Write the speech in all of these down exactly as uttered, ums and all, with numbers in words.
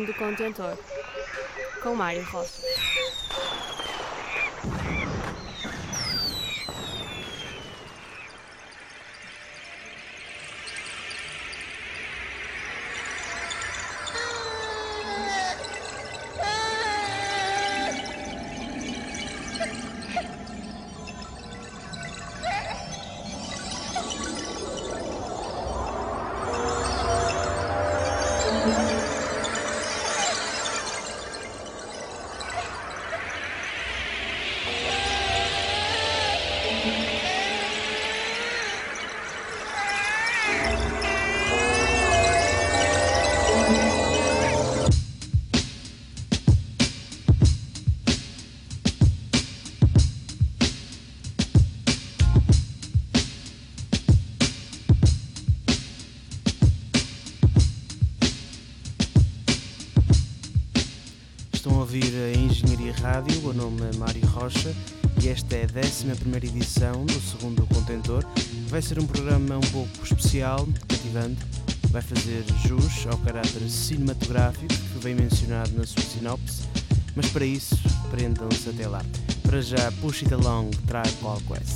segundo contentor, com Mário Rocha. Estão a ouvir a Engenharia Rádio, o nome é Mário Rocha e esta é a décima primeira edição do segundo contentor. Vai ser um programa um pouco especial, cativante, vai fazer jus ao caráter cinematográfico que vem mencionado na sua sinopse, mas para isso prendam-se até lá. Para já, Push It Along, Tribe Called Quest.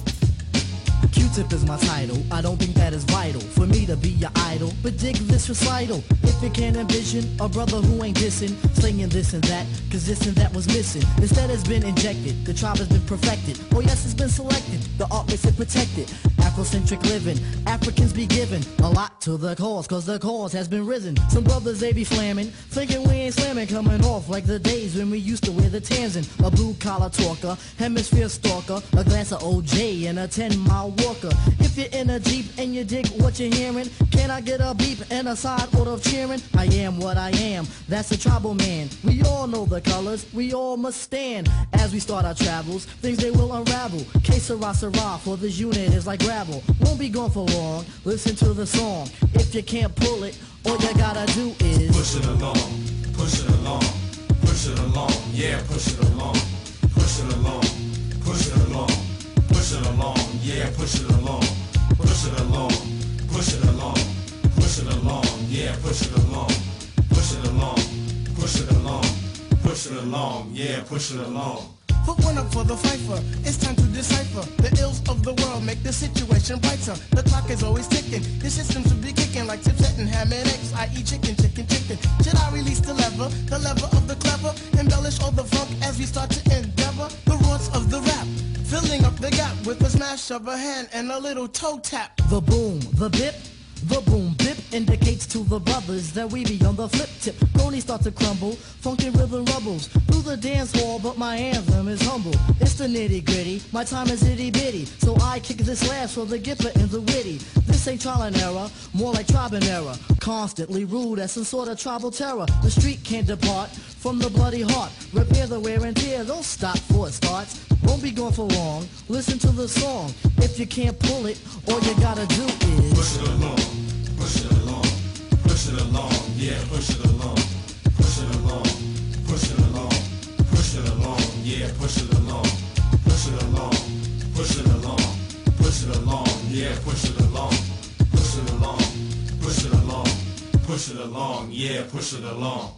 Q-tip is my title, I don't think that is vital for me to be your idol, but dig this recital. If you can't envision a brother who ain't dissing, slinging this and that, cause this and that was missing. Instead it's been injected, the tribe has been perfected. Oh yes, it's been selected, the art makes it protected. Afrocentric living, Africans be giving a lot to the cause, cause the cause has been risen. Some brothers they be flamming, thinking we ain't slamming, coming off like the days when we used to wear the Tanzan. A blue collar talker, hemisphere stalker, a glass of O J and a ten mile walker. If you're in a Jeep and you dig what you're hearing, can I get a beep and a side order of cheering? I am what I am, that's a tribal man. We all know the colors, we all must stand. As we start our travels, things they will unravel. Que sera sera, for this unit is like gravel. Won't be gone for long, listen to the song. If you can't pull it, all you gotta do is push it along, push it along, push it along, yeah, push it along, push it along, push it along, push it along, yeah, push it along, push it along, push it along, push it along, yeah, push it along, push it along, push it along, push it along, yeah, push it along. Put one up for the fifer, it's time to decipher. The ills of the world make the situation brighter. The clock is always ticking, your system should be kicking like Tipset and ham and eggs, that is chicken, chicken, chicken. Should I release the lever, the lever of the clever? Embellish all the funk as we start to endeavor. The roots of the rap, filling up the gap with a smash of a hand and a little toe tap. the boom, the bip. The boom bip indicates to the brothers that we be on the flip tip. Cronies start to crumble, funky rhythm rubbles through the dance hall, but my anthem is humble. It's the nitty gritty, my time is itty bitty, so I kick this last for the gipper and the witty. This ain't trial and error, more like tribe and error. Constantly rude as some sort of tribal terror. The street can't depart from the bloody heart. Repair the wear and tear, don't stop for it starts. Won't be gone for long, listen to the song. If you can't pull it, all you gotta do is push it along, push it along, push it along, yeah, push it along, push it along, push it along, push it along, yeah, push it along, push it along, push it along, push it along, yeah, push it along, push it along, push it along, push it along, yeah, push it along.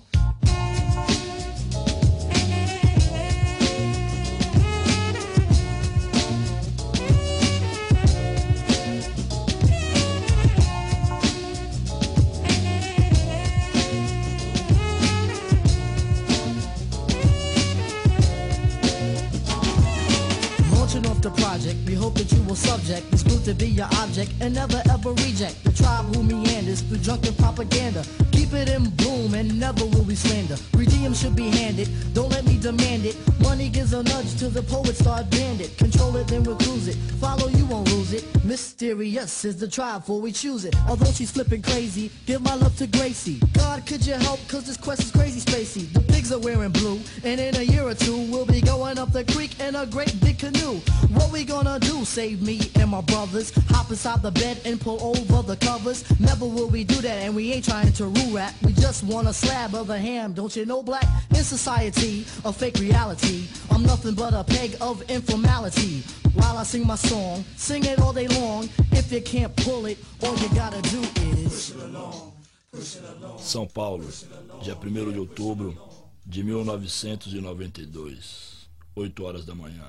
The project, we hope that you will subject this group to be your object and never ever reject the tribe who meanders through drunken propaganda. Keep it in bloom and never will we slander. Redeem should be handed, don't let me demand it. Money gives a nudge to the poet, start bandit. Control it, then recluse it. Follow, you won't lose it. Mysterious is the tribe before we choose it. Although she's flipping crazy, give my love to Gracie. God, could you help, cause this quest is crazy spacey. The pigs are wearing blue, and in a year or two, we'll be going up the creek in a great big canoe. What we gonna do? Save me and my brothers. Hop inside the bed and pull over the covers. Never will we do that, and we ain't trying to rule rap. We just want a slab of the ham, don't you know, black? In society, a fake reality, I'm nothing but a peg of informality. While I sing my song, sing it all day long. If you can't pull it, all you gotta do is push it along, São Paulo, dia primeiro de outubro de mil novecentos e noventa e dois, oito horas da manhã.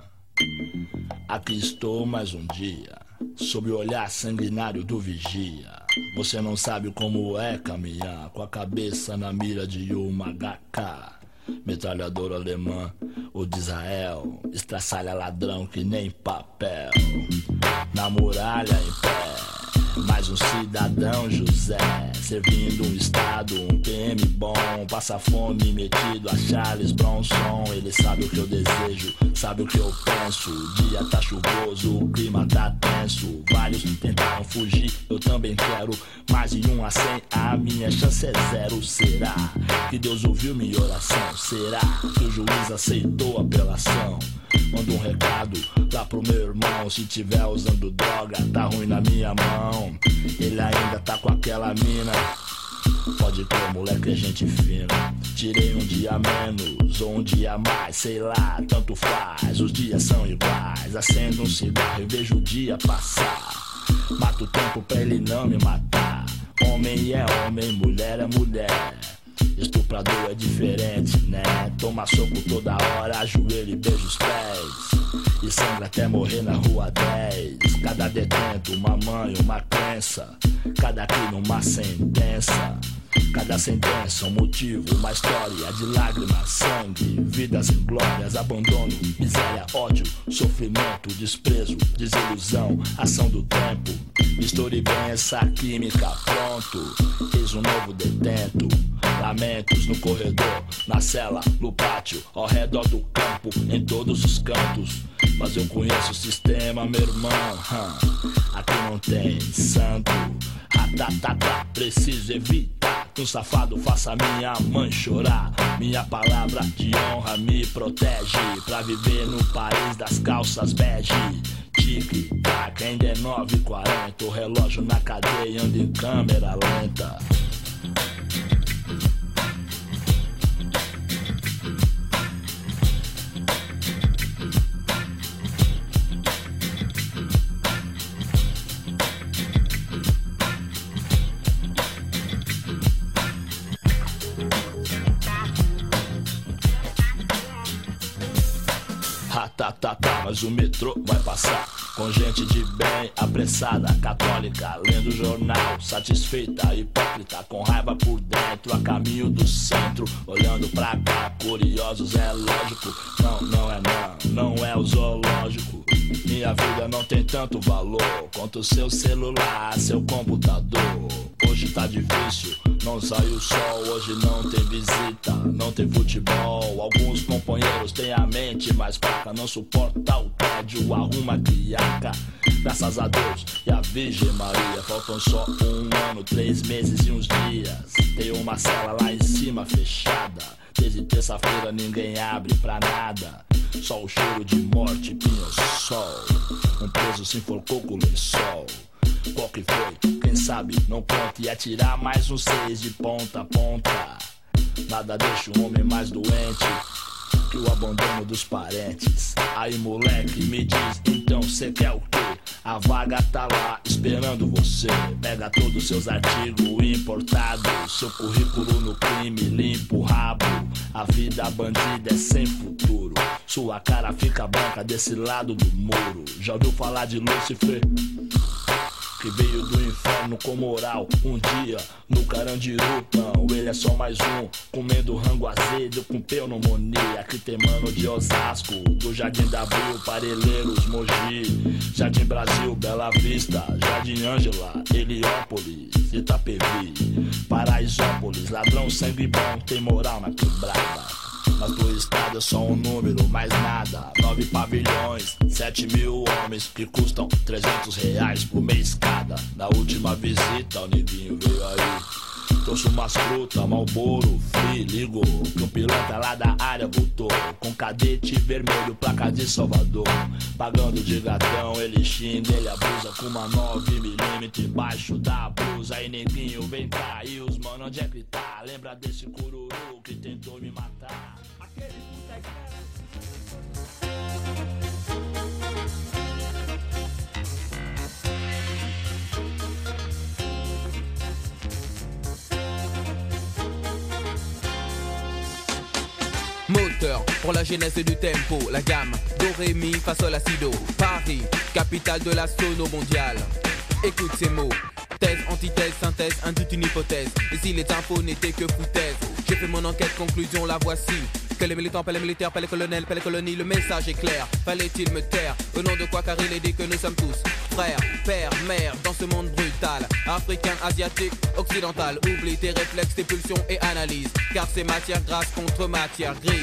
Aqui estou mais um dia, sob o olhar sanguinário do vigia. Você não sabe como é caminhar com a cabeça na mira de uma agá ká. Metralhadora alemã ou de Israel, estraçalha ladrão que nem papel. Na muralha em pé, mais um cidadão José, servindo um estado, um P M bom, passa fome metido a Charles Bronson. Ele sabe o que eu desejo, sabe o que eu penso. O dia tá chuvoso, o clima tá tenso. Vários tentaram fugir, eu também quero. Mais de um a cem, a minha chance é zero. Será que Deus ouviu minha oração? Será que o juiz aceitou a apelação? Manda um recado lá pro meu irmão. Se tiver usando droga, tá ruim na minha mão. Ele ainda tá com aquela mina. Pode crer, moleque, é gente fina. Tirei um dia menos ou um dia mais, sei lá, tanto faz. Os dias são iguais. Acendo um cigarro e vejo o dia passar. Mato o tempo pra ele não me matar. Homem é homem, mulher é mulher. Estuprador é diferente, né? Toma soco toda hora, ajoelha e beija os pés. E sangra até morrer na rua dez. Cada detento, uma mãe, uma crença. Cada crime, uma sentença. Cada sentença, um motivo, uma história de lágrimas, sangue, vidas inglórias, abandono, miséria, ódio, sofrimento, desprezo, desilusão, ação do tempo. Misture bem essa química, pronto, eis um novo detento. Lamentos no corredor, na cela, no pátio, ao redor do campo, em todos os cantos. Mas eu conheço o sistema, meu irmão. Hum, aqui não tem santo. Ratatatá, preciso evitar que um safado faça minha mãe chorar. Minha palavra de honra me protege pra viver no país das calças bege. Tic-tac, ainda é nove e quarenta. O relógio na cadeia anda em câmera lenta. Tá, tá, tá, mas o metrô vai passar com gente de bem, apressada, católica, lendo jornal, satisfeita, hipócrita, com raiva por dentro, a caminho do centro, olhando pra cá, curiosos, é lógico. Não, não é não, não é o zoológico. Minha vida não tem tanto valor quanto seu celular, seu computador. Hoje tá difícil, não sai o sol, hoje não tem visita, não tem futebol. Alguns companheiros têm a mente mais fraca, não suporta o tédio, arruma criaca. Graças a Deus e a Virgem Maria, faltam só um ano, três meses e uns dias. Tem uma cela lá em cima fechada, desde terça-feira ninguém abre pra nada. Só o cheiro de morte, pinho-sol. Um preso se enforcou com o lençol. Qual que foi? Quem sabe? Não conta. E atirar mais um seis de ponta a ponta. Nada deixa o homem mais doente que o abandono dos parentes. Aí moleque, me diz, então cê quer o quê? A vaga tá lá esperando você. Pega todos os seus artigos importados, seu currículo no crime, limpa o rabo. A vida bandida é sem futuro, sua cara fica branca desse lado do muro. Já ouviu falar de Lúcifer? Que veio do inferno com moral. Um dia no Carandiru, não, ele é só mais um, comendo rango azedo com pneumonia. Aqui tem mano de Osasco, do Jardim da Abril, Parelheiros, Mogi, Jardim Brasil, Bela Vista, Jardim Ângela, Heliópolis, Itapevi, Paraisópolis. Ladrão sangue bom, tem moral na quebrada. Mas pro estado é só um número, mais nada. Nove pavilhões, sete mil homens que custam trezentos reais por mês cada. Na última visita o neguinho veio aí, trouxe umas frutas, Marlboro, Free, ligou que um piloto lá da área voltou com cadete vermelho, placa de Salvador. Pagando de gatão, ele xinga, ele abusa com uma nove milímetros embaixo da blusa. Aí neguinho vem cá, e os mano, onde é que tá? Lembra desse cururu que tentou me matar? Aquele puta espera. moteur pour la genèse du tempo. La gamme do, ré, mi, fa, sol, la, si, do. Paris, capitale de la sono mondiale. Écoute ces mots. Thèse, antithèse, synthèse, induite une hypothèse. Et si les infos n'étaient que foutaises, j'ai fait mon enquête, conclusion, la voici. Que les militants, pas les militaires, pas les colonels, pas les colonies, le message est clair. Fallait-il me taire? Au nom de quoi? Car il est dit que nous sommes tous frères, pères, mères, dans ce monde brutal. Africain, asiatique, occidental. Oublie tes réflexes, tes pulsions et analyse. Car c'est matière grasse contre matière grise.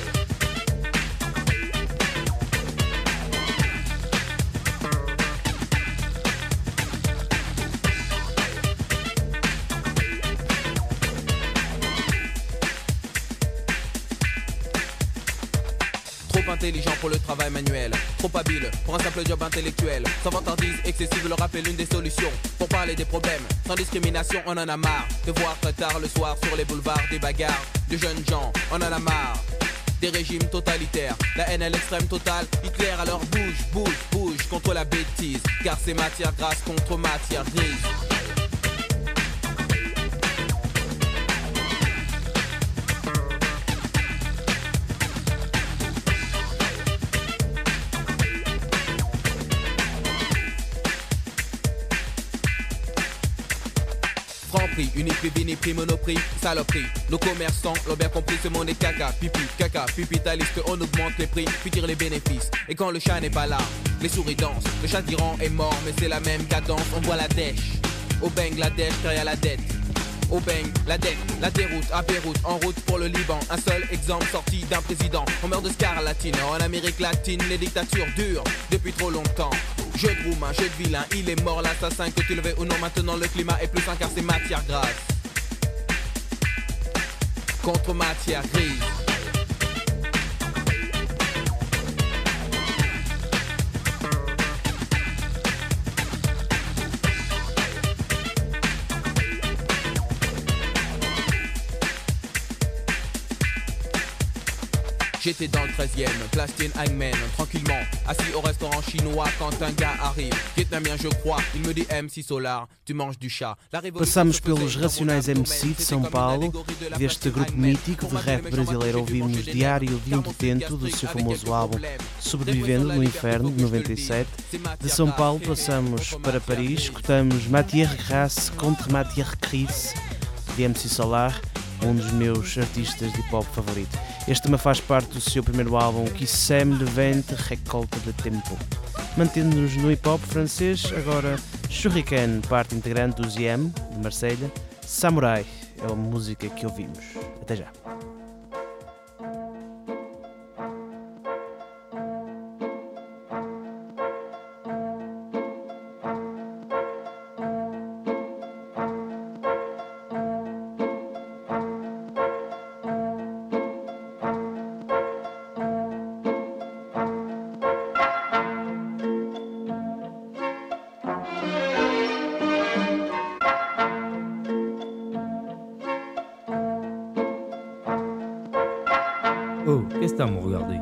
Intelligent pour le travail manuel, trop habile pour un simple job intellectuel. Sans vantardise excessive, le rap est l'une des solutions pour parler des problèmes. Sans discrimination, on en a marre de voir très tard le soir sur les boulevards des bagarres de jeunes gens. On en a marre des régimes totalitaires, la haine à l'extrême totale. Hitler alors bouge, bouge, bouge contre la bêtise. Car c'est matière grasse contre matière grise. Franc-prix, uniprix, viniprix, monoprix, saloperie. Nos commerçants l'ont bien compris, ce monde est caca, pipi, caca, pipitaliste, on augmente les prix, puis tire les bénéfices. Et quand le chat n'est pas là, les souris dansent. Le chat d'Iran est mort, mais c'est la même cadence, on voit la dèche. Au Bangladesh, derrière la dette. Au bang, la dette, la déroute, à Beyrouth, en route pour le Liban. Un seul exemple sorti d'un président. On meurt de scarlatine, en Amérique latine, les dictatures durent depuis trop longtemps. Jeu de roumain, jeu de vilain, il est mort l'assassin. Que tu le veuilles ou non, maintenant le climat est plus sain car c'est matière grasse contre matière grise. J'étais dans le treizième, place Tiananmen, tranquillement, assis au restaurant chinois quand un gars arrive. Vietnamien je crois, il me dit M C Solar, tu manges du chat. Passamos pelos Racionais M C de São Paulo, deste grupo mítico de rap brasileiro ouvimos Diário de um Detento, do seu famoso álbum Sobrevivendo no Inferno, de noventa e sete. De São Paulo passamos para Paris, escutamos Matière Grasse contre Matière Grise, de M C Solar, um dos meus artistas de hip-hop favorito. Este tema faz parte do seu primeiro álbum, Qui sème le vent récolte de tempo. Mantendo-nos no hip-hop francês, agora Shuriken, parte integrante do Z M, de Marselha. Samurai é a música que ouvimos. Até já. Oh, qu'est-ce que t'as à me regarder?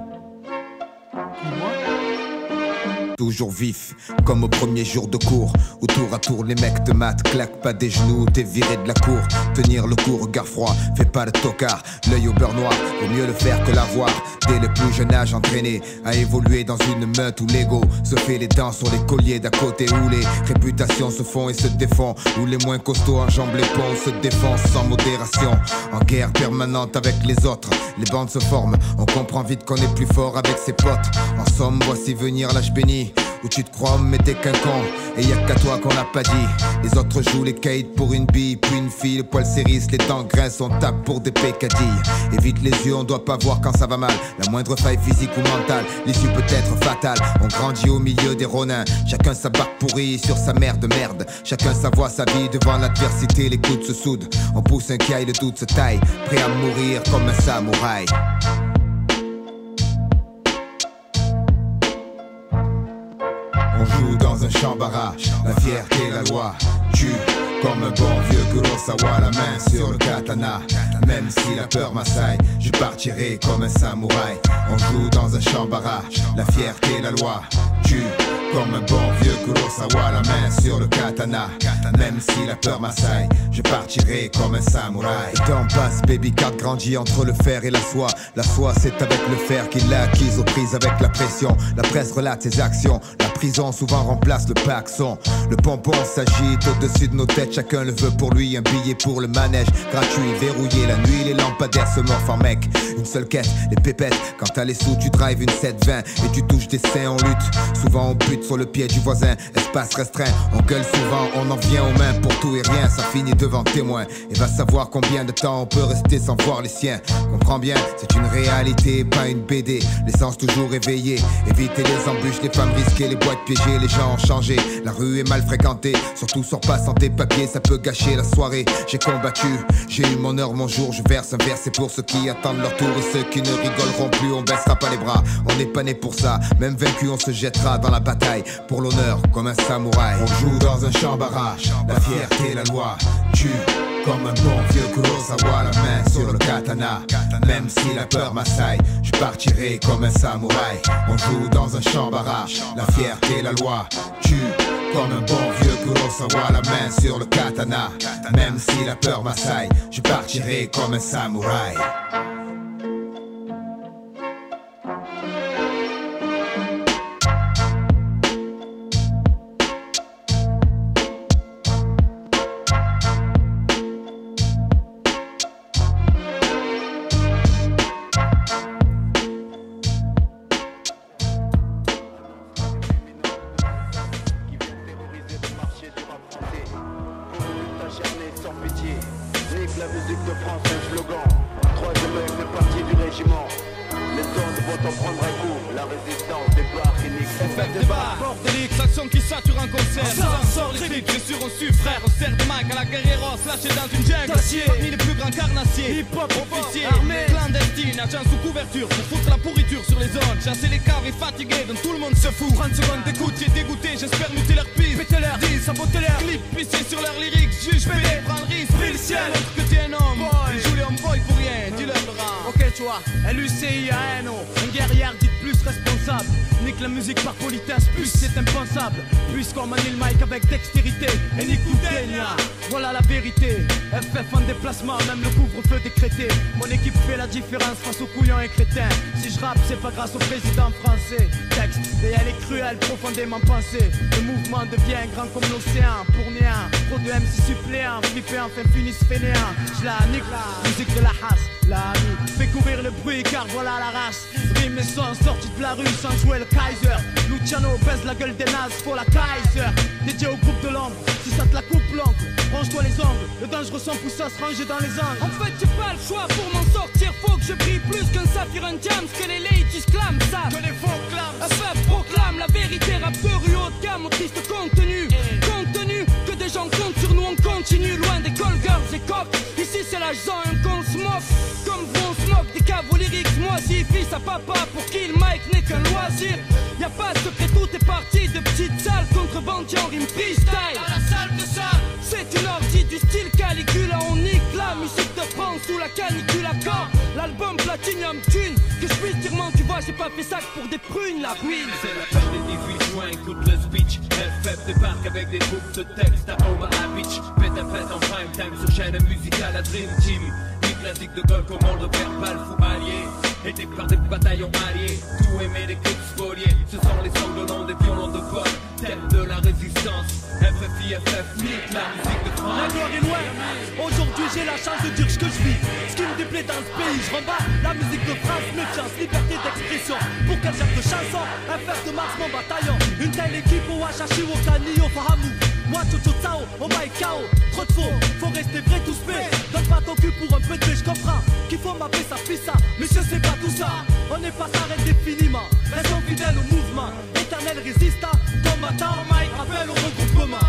Toujours vif, comme au premier jour de cours, où tour à tour les mecs te matent, claque pas des genoux, t'es viré de la cour. Tenir le coup, regard froid, fais pas le tocard, l'œil au beurre noir, vaut mieux le faire que l'avoir. Dès le plus jeune âge entraîné à évoluer dans une meute où l'ego se fait les dents sur les colliers d'à côté, où les réputations se font et se défont, où les moins costauds enjambent les ponts, se défoncent sans modération, en guerre permanente avec les autres. Les bandes se forment, on comprend vite qu'on est plus fort avec ses potes. En somme, voici venir l'âge béni, où tu te crois mais t'es qu'un con, et y'a qu'à toi qu'on l'a pas dit. Les autres jouent les kites pour une bille, puis une fille, le poil s'érisse, les dents grincent, on tape pour des pécadilles. Évite les yeux, on doit pas voir quand ça va mal. La moindre faille physique ou mentale, l'issue peut être fatale. On grandit au milieu des ronins, chacun sa barque pourrie sur sa mère de merde. Chacun sa voix, sa vie, devant l'adversité, les coudes se soudent. On pousse un caille, le doute se taille, prêt à mourir comme un samouraï. On joue dans un champ barrage, la fierté, la loi tue. Comme un bon vieux Kurosawa, la main sur le katana. Même si la peur m'assaille, je partirai comme un samouraï. On joue dans un champ barrage, la fierté, la loi tue. comme un bon vieux Kurosawa, la main sur le katana. Même si la peur m'assaille, je partirai comme un samouraï. Le temps passe, baby card grandit entre le fer et la soie. La soie c'est avec le fer qu'il l'a acquise aux prises avec la pression. La presse relate ses actions, la prison souvent remplace le paxon. Le pompon s'agite au-dessus de nos têtes, chacun le veut pour lui. Un billet pour le manège, gratuit, verrouillé la nuit. Les lampadaires se morfent en mec, une seule quête, les pépettes. Quand t'as les sous tu drives une sept vingt et tu touches des seins en lutte. Souvent on bute sur le pied du voisin, espace restreint. On gueule souvent, on en vient aux mains pour tout et rien. Ça finit devant témoin et va savoir combien de temps on peut rester sans voir les siens. Comprends bien, c'est une réalité, pas une B D. L'essence toujours éveillée, éviter les embûches, les femmes risquées, les boîtes piégées. Les gens ont changé, la rue est mal fréquentée. Surtout sors pas sans tes papiers, ça peut gâcher la soirée. J'ai combattu, j'ai eu mon heure, mon jour. Je verse un verre, c'est pour ceux qui attendent leur tour. Et ceux qui ne rigoleront plus, on baissera pas les bras. On n'est pas né pour ça, même vaincu on se jettera dans la bataille. Pour l'honneur, comme un samouraï. On joue dans un champ barrage, la fierté, la loi. Tue comme un bon vieux Kurosawa, la main sur le katana. Même si la peur m'assaille, je partirai comme un samouraï. On joue dans un champ barrage, la fierté, la loi. Tue comme un bon vieux Kurosawa, la main sur le katana. Même si la peur m'assaille, je partirai comme un samouraï. Chasser les caves et fatigués, dont tout le monde se fout. trente secondes d'écoute, j'ai dégoûté, j'espère muter leur piste. Péter leur deal, saboter leur clip, pisser sur leurs lyrics. Juge, pédé, prends le risque, fais le ciel. Montre que t'es un homme, ils jouent les homeboys pour rien, dis-leur le rang. Ok, tu vois, L U C I A N O, un guerrière dit plus responsable. Nique la musique par politesse, plus c'est impensable. Puisqu'on manie le mic avec dextérité et nique tout Kenya. Voilà la vérité, F F en déplacement, même le couvre-feu décrété. Mon équipe fait la différence face aux couillons et crétins. Si je rappe, c'est pas grâce au président français. Texte, et elle est cruelle, profondément pensée. Le mouvement devient grand comme l'océan, pour rien. Trop de M C suppléants, flippés enfin finissent fainéants. Je la nique, la musique de la hasse, la amie. Fais courir le bruit car voilà la race. Rime et son sortis de la rue sans jouer le Kaiser. Luciano baise la gueule des nazes, faut la Kaiser. Dédié au groupe de l'ombre, si ça te la coupe l'oncle. Range-toi les ongles, le dangereux sang pousse à se ranger dans les angles. En fait j'ai pas le choix pour m'en sortir. Faut que je brille plus qu'un saphir, un diamant. Que les ladies clament ça, que les faux clament. F F proclame la vérité, rap de rue haut de gamme au triste contenu. Contenu, que des gens comptent sur nous, on continue. Loin des call girls et cops, ici c'est la zone qu'on se moque. Comme vous on se moque des caveaux lyriques. Moi si fils à papa pour qui le mic n'est qu'un loisir. Y'a pas de secret, tout est parti de petites salles contrebandiers en rime freestyle. À la salle de ça, c'est une orgie du style Caligula. On nique la musique de France sous la canicule à quand l'album Platinum Thune. Que je puisse dire man, tu vois j'ai pas fait ça que pour des prunes la ruine. C'est la fête des dix-huit juin, écoute le speech. F F débarque avec des groupes de texte à Omaha Beach. Fête à fête en prime time sur chaîne musicale à Dream Team. Une classique de golf au monde verbal fou allié. Aidé par des bataillons alliés, tout aimé des coups spoliés. Ce sont les sanglants des violons de vol, tête de la résistance. F F I F F, nique la musique de France. La gloire est loin, aujourd'hui j'ai la chance de dire ce que je vis. Ce qui me déplaît dans ce pays, je rembarre la musique de France, méfiance, liberté d'expression. Pour quel genre de chanson, F F de Mars, mon bataillon. Une telle équipe au Wachachi, au Kani, au Fahamou. Moi, Chocho Tsao, au Mike Kao. Trop de faux, faut rester vrai tout se fait. Donne pas ton cul pour un peu de paix, je comprends. Qu'il faut m'appeler ça, fils ça, mais je sais pas tout ça. On n'est pas s'arrête définiment. Restons fidèles au mouvement. Éternel résistant, combattant, Mike, appelle au regroupement.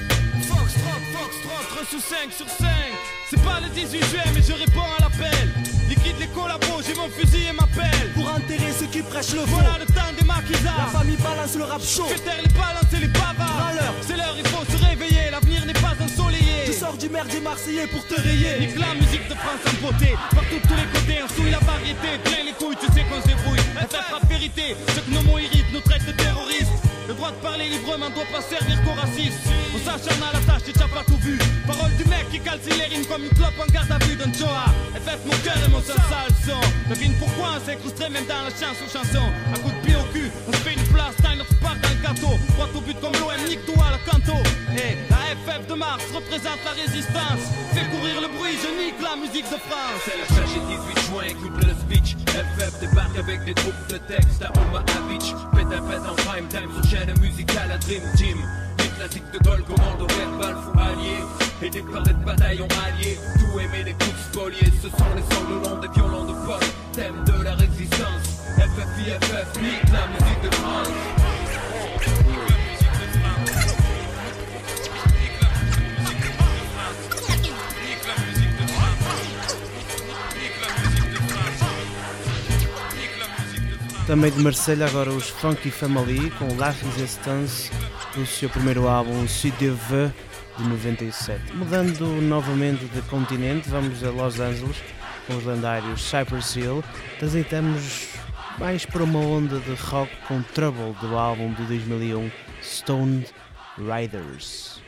Foxtrot, Foxtrot, trois sous cinq sur cinq. C'est pas le dix-huit juin, mais je réponds à l'appel. Liquide les collabos, j'ai mon fusil et ma pelle. Pour enterrer ceux qui prêchent le faux. Voilà le temps des maquisards. La famille balance le rap chaud. Fais taire les balances et les bavards. C'est l'heure, il faut se réveiller. L'avenir n'est pas ensoleillé. Tu sors du merdier marseillais pour te rayer. Nique la musique de France en beauté. Partout de tous les côtés, on souille la variété. Plein les couilles, tu sais qu'on se débrouille. F F rap vérité, ceux que nos mots irritent nous traitent de terroristes. Le droit droit de parler librement doit pas servir qu'au racisme. On s'acharne à la tâche et t'as pas tout vu. Parole du mec qui calcine les rimes comme une clope en garde à vue d'un Joa. Et faites mon cœur et mon seul sale son. Devine pourquoi on s'incrusterait même dans la chanson chanson. À coup de pied au cul, on se fait une place, t'as notre part dans le gâteau. Droit au but comme l'O M, nique-toi à la canto. Et la F F de Mars représente la résistance. Fais courir le bruit, je nique la musique de France. C'est la fâche et dix-huit juin, écoute le speech. F F débarque avec des troupes de texte à Omaha Beach. Pète un pète en prime time sur chaîne musicale à Dream Team. Des classiques de Gaulle, commando verbal, fou allié. Et des parades de bataillons alliés. Tout aimer des coups spoliés. Ce sont les sanglants des violons de pop. Thème de la résistance. F F I F F, nique la musique de France. Também de Marselha, agora os Funky Family com La Résistance do seu primeiro álbum Si Dieu veut de noventa e sete. Mudando novamente de continente, vamos a Los Angeles com os lendários Cypress Hill. Transitamos mais para uma onda de rock com Trouble do álbum de dois mil e um Stone Riders.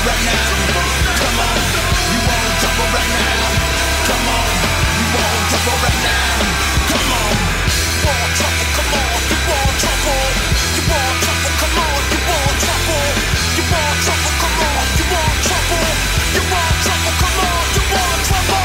right now. Come on, you want trouble right now. Come on, you want trouble right now. Come on, you want trouble, come on, you want trouble. You want trouble, come on, you want trouble. You want trouble, come on, you want trouble. You want trouble, come on, you want trouble.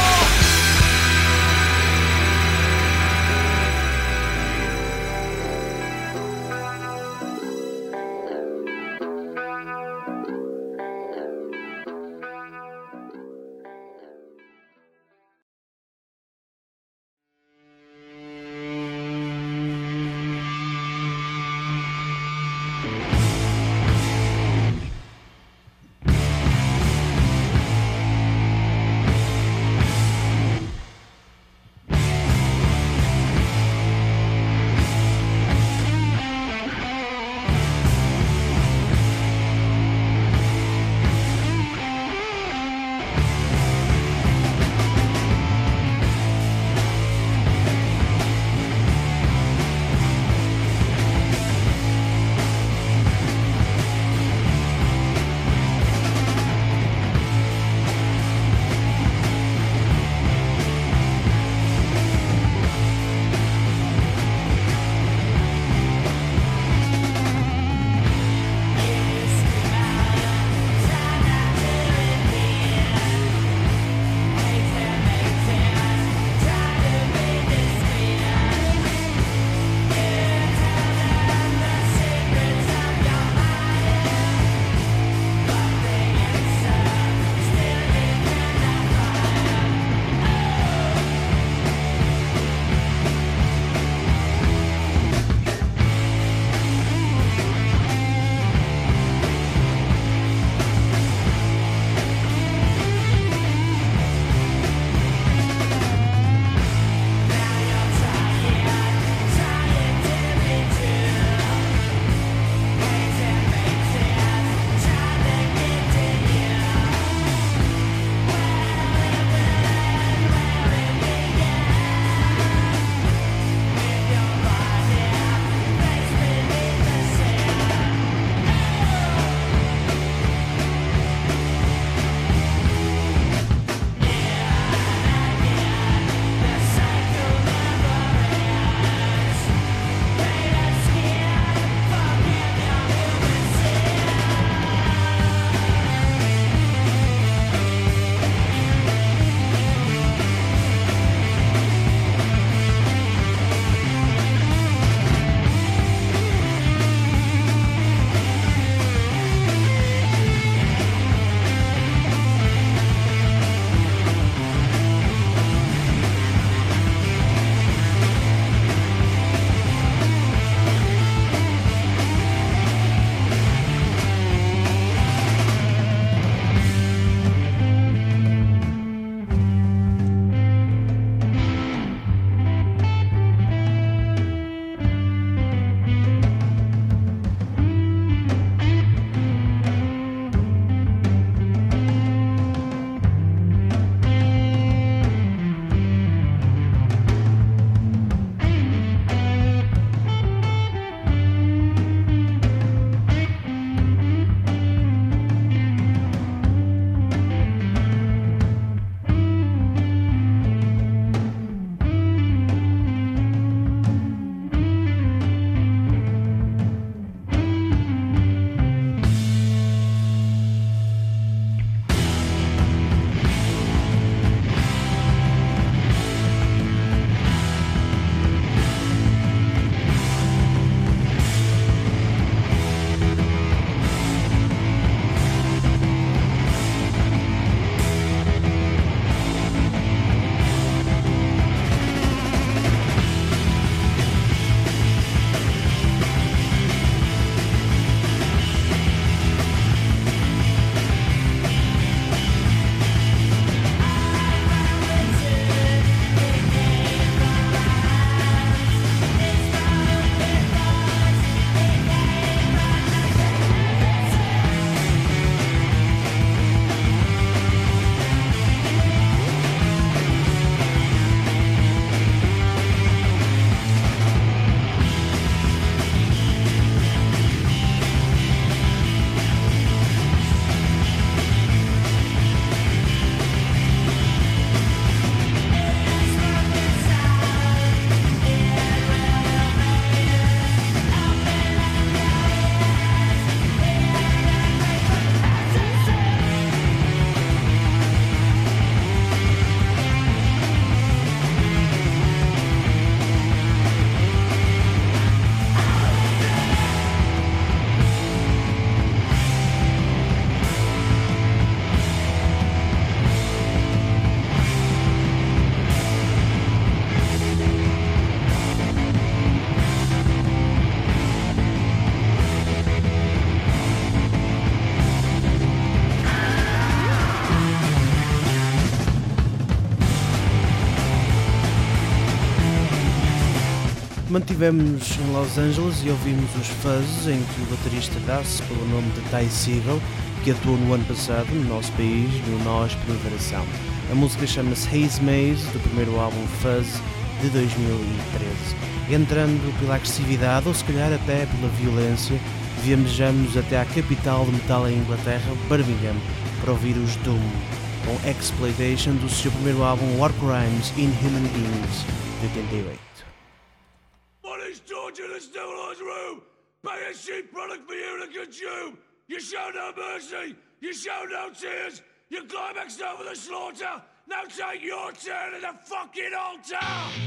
Mantivemos em Los Angeles e ouvimos os Fuzz, em que o baterista dá-se pelo nome de Ty Segall, que atuou no ano passado no nosso país, no Nós Primavera Sound. A música chama-se Haze Maze, do primeiro álbum Fuzz de dois mil e treze. Entrando pela agressividade, ou se calhar até pela violência, viajamos até à capital do metal em Inglaterra, Birmingham, para ouvir os Doom, com Exploitation do seu primeiro álbum War Crimes Inhuman Beings, de oitenta e oito. Torture the civilized room, buy a cheap product for you to consume. You show no mercy, you show no tears, you climaxed over the slaughter. Now take your turn at the fucking altar.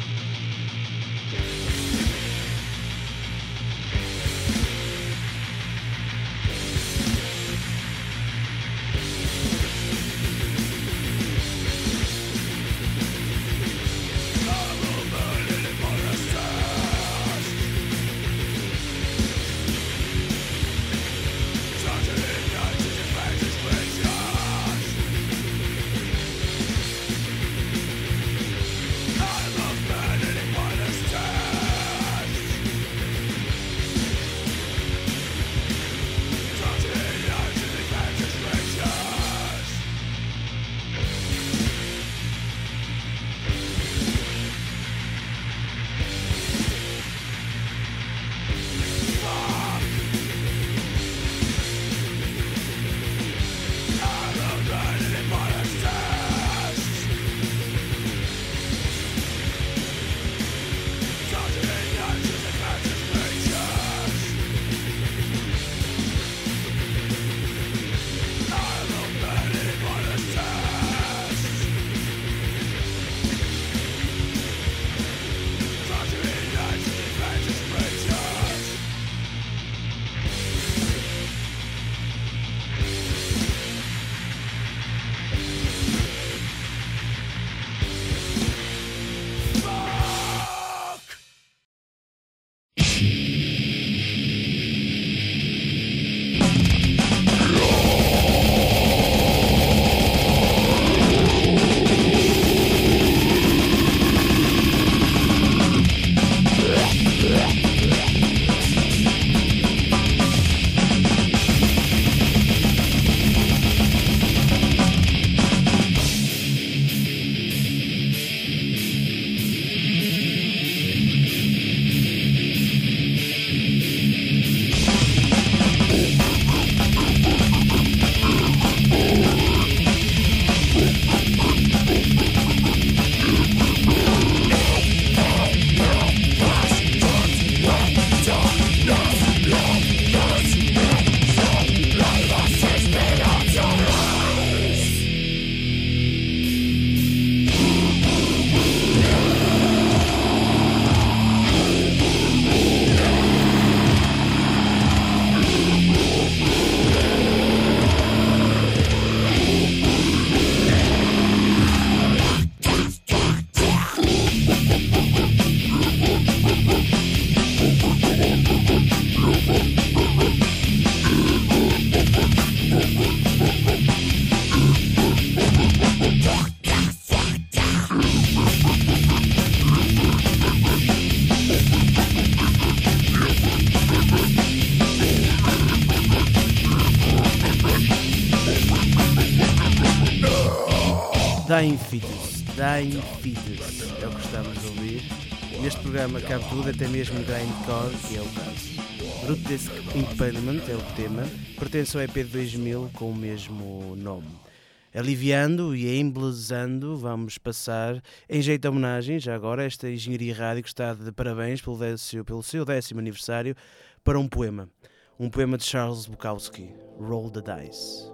Dying Fetus, Dying Fetus, é o que estamos a ouvir. Neste programa cabe tudo, até mesmo grindcore, que é o caso. Grotesque Impalement é o tema, pertence ao E P de dois mil com o mesmo nome. Aliviando e embelezando, vamos passar, em jeito de homenagem, já agora, esta Engenharia Rádio que está de parabéns pelo, décimo, pelo seu décimo aniversário, para um poema. Um poema de Charles Bukowski, Roll the Dice.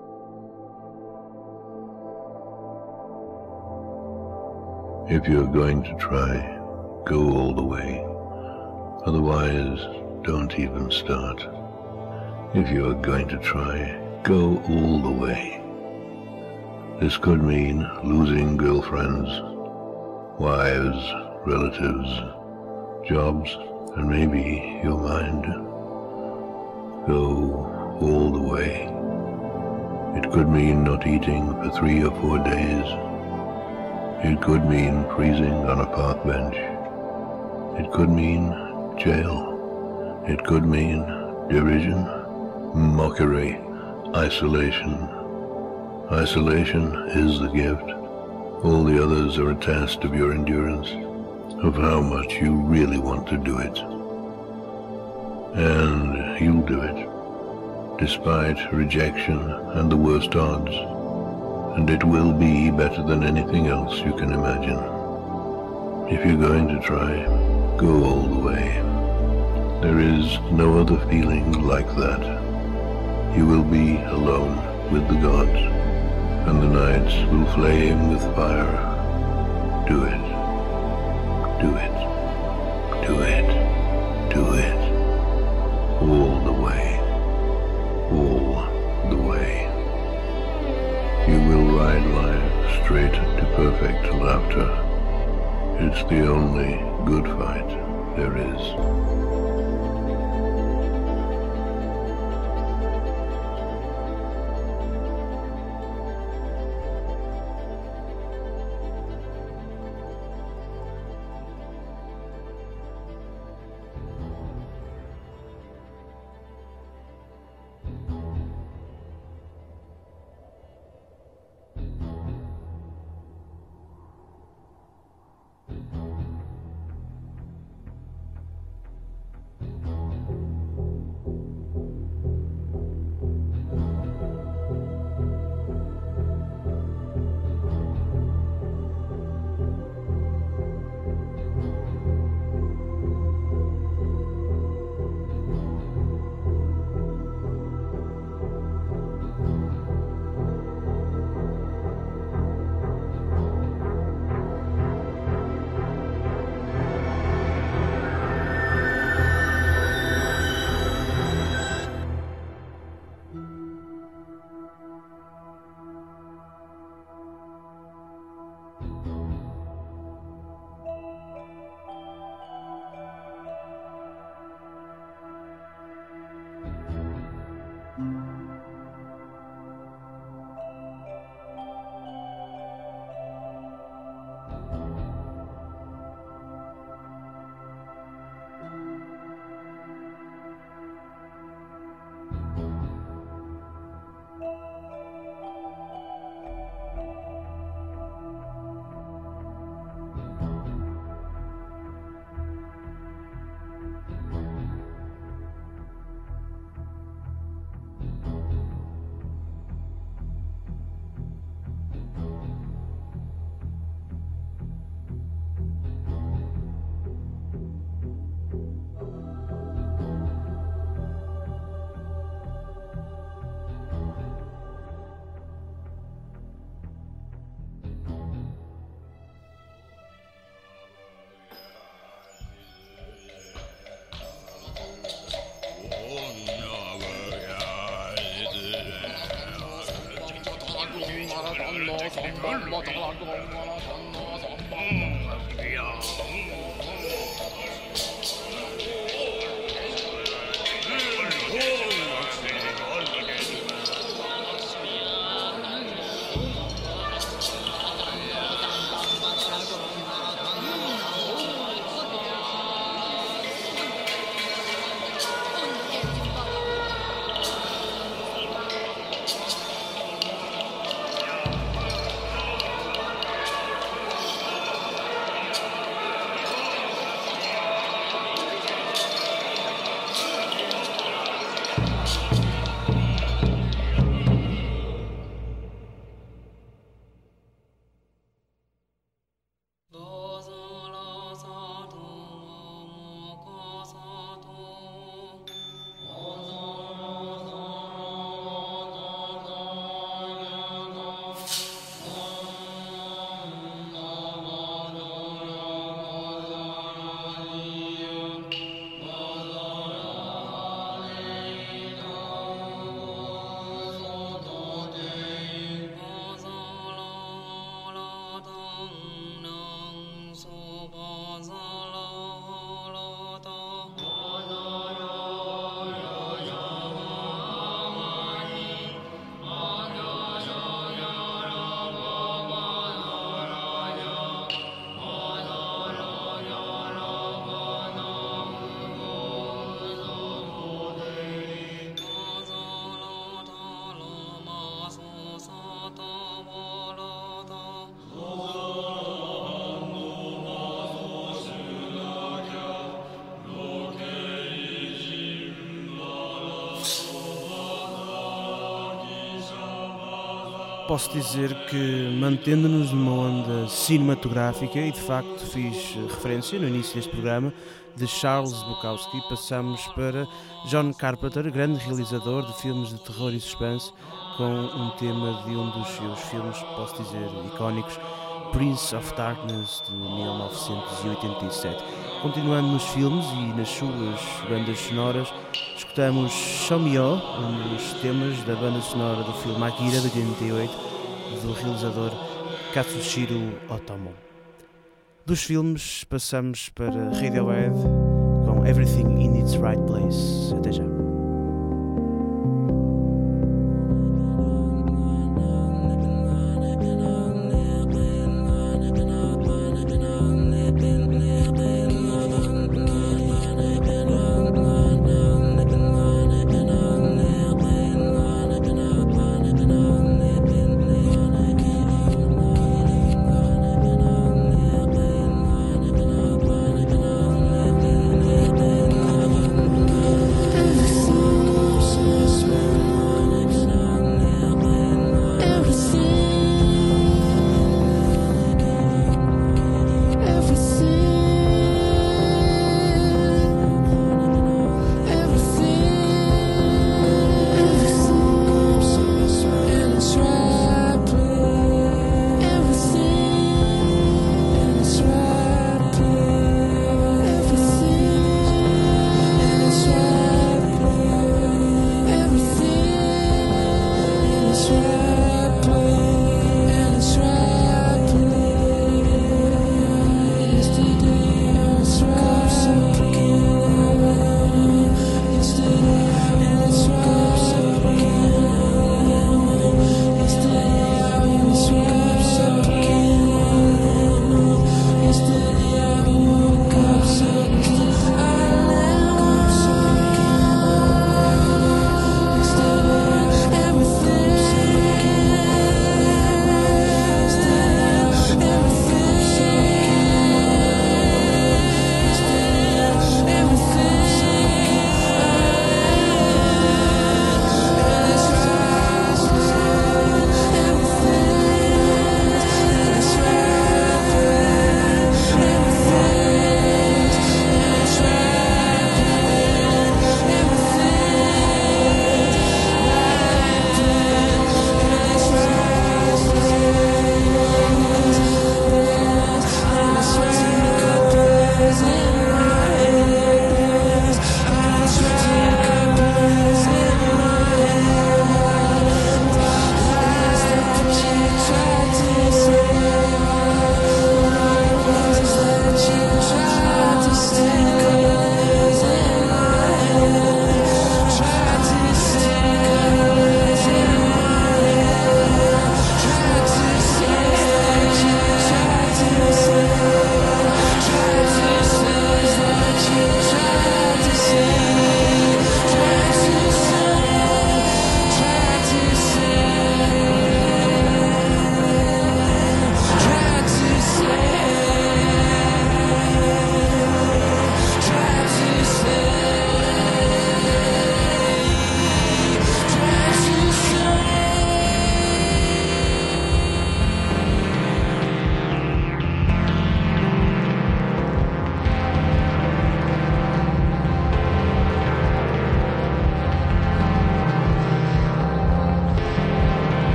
If you're going to try, go all the way. Otherwise, don't even start. If you're going to try, go all the way. This could mean losing girlfriends, wives, relatives, jobs, and maybe your mind. Go all the way. It could mean not eating for three or four days. It could mean freezing on a park bench. It could mean jail. It could mean derision, mockery, isolation. Isolation is the gift. All the others are a test of your endurance, of how much you really want to do it. And you'll do it, despite rejection and the worst odds. And it will be better than anything else you can imagine. If you're going to try, go all the way. There is no other feeling like that. You will be alone with the gods, and the nights will flame with fire. Do it. Do it. Do it. Do it. All the way. All the way. You will ride life straight to perfect laughter. It's the only good fight there is. posso dizer que, mantendo-nos numa onda cinematográfica, e de facto fiz referência no início deste programa, de Charles Bukowski, passamos para John Carpenter, grande realizador de filmes de terror e suspense, com um tema de um dos seus filmes, posso dizer, icónicos, Prince of Darkness, de mil novecentos e oitenta e sete. Continuando nos filmes e nas suas bandas sonoras, escutamos Show Me Oh, um dos temas da banda sonora do filme Akira, de oitenta e oito, do realizador Katsushiro Otomo. Dos filmes passamos para Radiohead com Everything in Its Right Place. Até já. This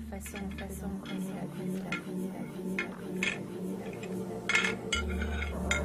façon, la façon de connaître la vie, la vie, la vie, la vie, la vie, la vie, la vie.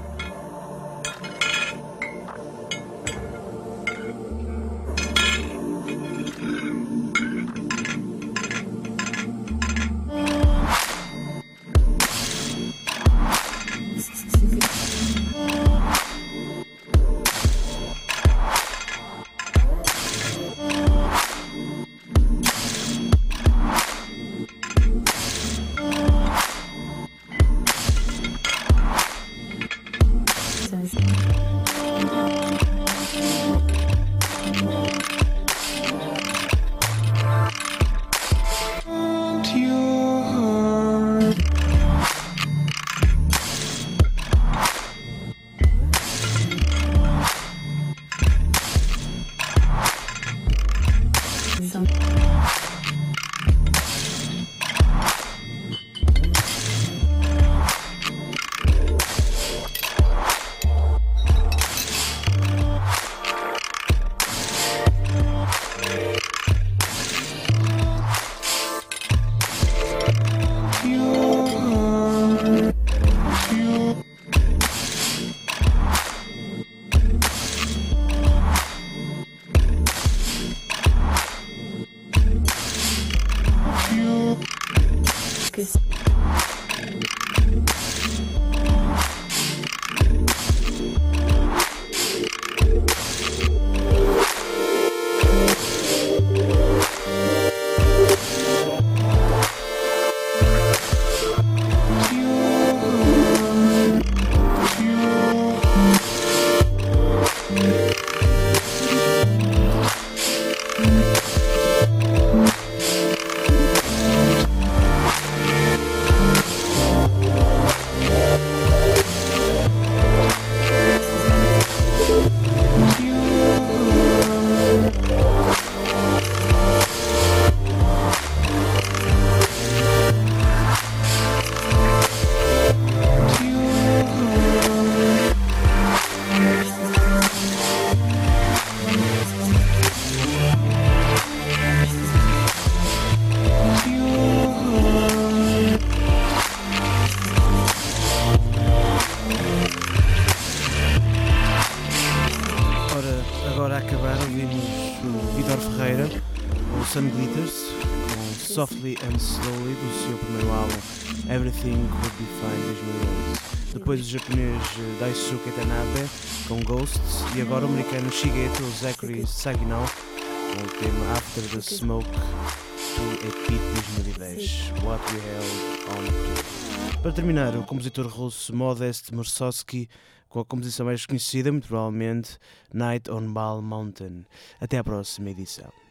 Sun Glitters com Softly and Slowly do seu primeiro álbum Everything Would Be Fine dois mil e onze. Depois o japonês Daisuke Tanabe com Ghosts e agora o americano Shigeto Zachary Saginaw com o tema After the Smoke do E P de dois mil e dez What We Held On To. Para terminar, o compositor russo Modest Mussorgsky com a composição mais conhecida, muito provavelmente Night on Ball Mountain. Até à próxima edição.